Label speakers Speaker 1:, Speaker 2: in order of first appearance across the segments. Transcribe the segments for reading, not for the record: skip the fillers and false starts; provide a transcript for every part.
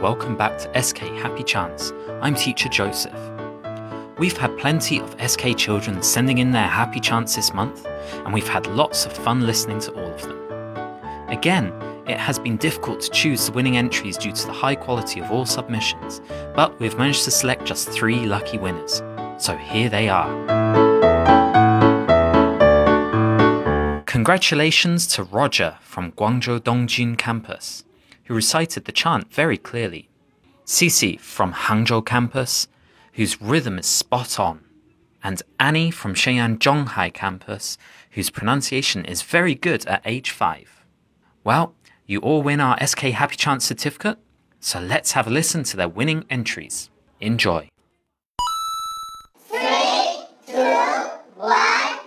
Speaker 1: welcome back to SK Happy Chance. I'm teacher Joseph. We've had plenty of SK children sending in their happy chants this month, and we've had lots of fun listening to all of them. Again, it has been difficult to choose the winning entries due to the high quality of all submissions, but we've managed to select just 3 lucky winners. So here they are. Congratulations to Roger from Guangzhou Dongjun campus, who recited the chant very clearly. Cici from Hangzhou campus, whose rhythm is spot on. And Annie from Shenyang Zhonghai campus, whose pronunciation is very good at age 5. Well, you all win our SK Happy Chance certificate, so let's have a listen to their winning entries. Enjoy.
Speaker 2: 3, 2, 1,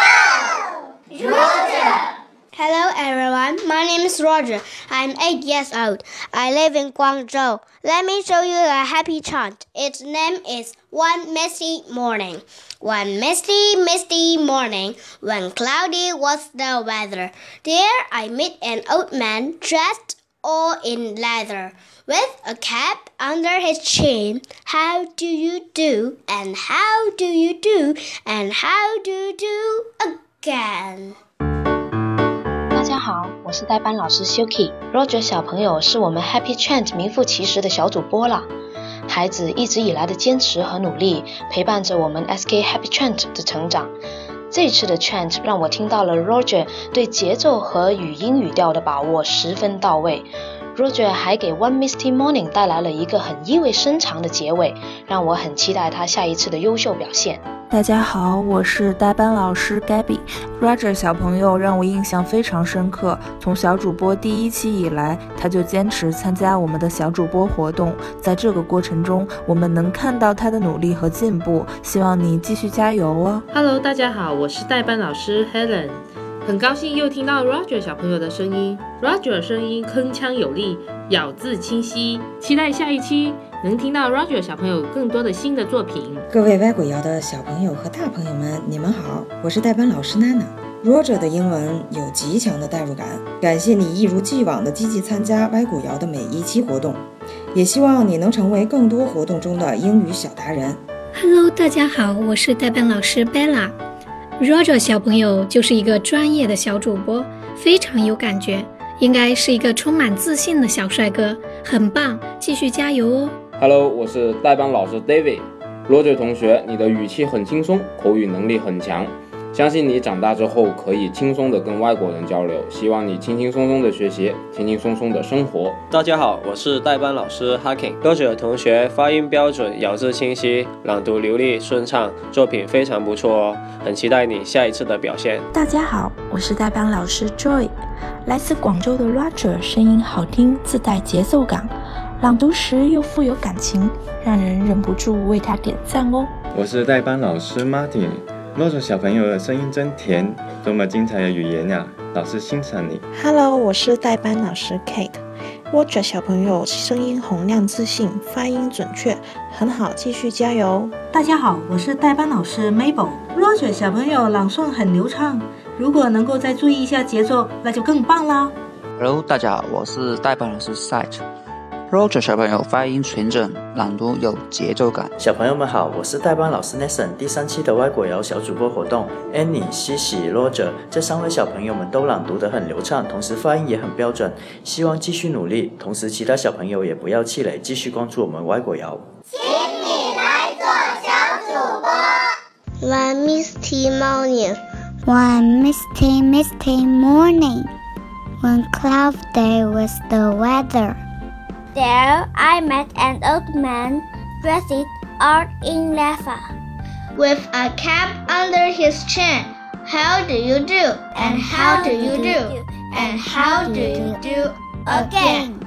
Speaker 2: go! Roger!
Speaker 3: Hello everyone, my name is Roger. I'm 8 years old. I live in Guangzhou. Let me show you a happy chant. Its name is One Misty Morning. One misty, misty morning, when cloudy was the weather, there I met an old man dressed all in leather, with a cap under his chin. How do you do? And how do you do? And how do you do again?
Speaker 4: 大家好，我是代班老师 Shuki。Roger 小朋友是我们 Happy Chant 名副其实的小主播了。孩子一直以来的坚持和努力，陪伴着我们 SK Happy Chant 的成长。这次的 Chant 让我听到了 Roger 对节奏和语音语调的把握十分到位。Roger 还给 One Misty Morning 带来了一个很意味深长的结尾，让我很期待他下一次的优秀表现。
Speaker 5: 大家好，我是代班老师 Gabby。Roger 小朋友让我印象非常深刻，从小主播第1期以来，他就坚持参加我们的小主播活动，在这个过程中，我们能看到他的努力和进步，希望你继续加油哦。
Speaker 6: Hello， 大家好，我是代班老师 Helen。很高兴又听到 Roger 小朋友的声音 ，Roger 声音铿锵有力，咬字清晰，期待下一期能听到 Roger 小朋友更多的新的作品。
Speaker 7: 各位歪鬼谣的小朋友和大朋友们，你们好，我是代班老师娜娜。Roger 的英文有极强的代入感，感谢你一如既往的积极参加歪鬼谣的每一期活动，也希望你能成为更多活动中的英语小达人。
Speaker 8: Hello， 大家好，我是代班老师 Bella。Roger 小朋友就是一个专业的小主播，非常有感觉，应该是一个充满自信的小帅哥，很棒，继续加油哦。
Speaker 9: Hello， 我是代班老师 David。Roger 同学，你的语气很轻松，口语能力很强，相信你长大之后可以轻松地跟外国人交流，希望你轻轻松松的学习，轻轻松松的生活。
Speaker 10: 大家好，我是代班老师 Hakim。Roger 同学发音标准，咬字清晰，朗读流利顺畅，作品非常不错哦，很期待你下一次的表现。
Speaker 5: 大家好，我是代班老师 Joy。来自广州的 Roger 声音好听，自带节奏感，朗读时又富有感情，让人忍不住为他点赞哦。
Speaker 11: 我是代班老师 Martin。Roger 小朋友的声音真甜，多么精彩的语言呀！老师欣赏你。
Speaker 12: Hello， 我是代班老师 Kate。Roger 小朋友声音洪亮自信，发音准确，很好，继续加油。
Speaker 13: 大家好，我是代班老师 Mabel。Roger 小朋友朗诵很流畅，如果能够再注意一下节奏，那就更棒啦。
Speaker 14: Hello， 大家好，我是代班老师 Sight。Roger 小朋友发音纯正，朗读有节奏感。
Speaker 15: 小朋友们好，我是代班老师 Nathan。第3期的歪果谣小主播活动 ，Annie、西西、Roger 这3位小朋友们都朗读得很流畅，同时发音也很标准。希望继续努力，同时其他小朋友也不要气馁，继续关注我们歪果谣。
Speaker 2: 请你来做小主播。
Speaker 3: One misty morning,
Speaker 16: One misty, misty morning, when cloudy was the weather.There I met an old man dressed all in leather,
Speaker 3: with a cap under his chin. How do you do? And how do you do? And how do you do again?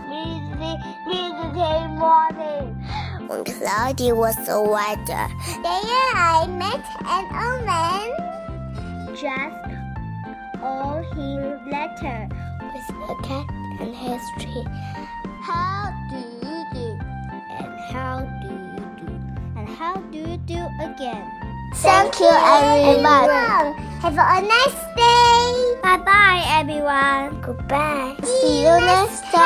Speaker 16: Misty morning, when cloudy was the weather. There I met an old man dressed all in leather, with a cap on his chin.How do you do? And how do you do? And how do you do again?
Speaker 3: Thank you, everyone.
Speaker 16: Have a nice day. Bye bye, everyone.
Speaker 3: Goodbye.
Speaker 16: See you next time.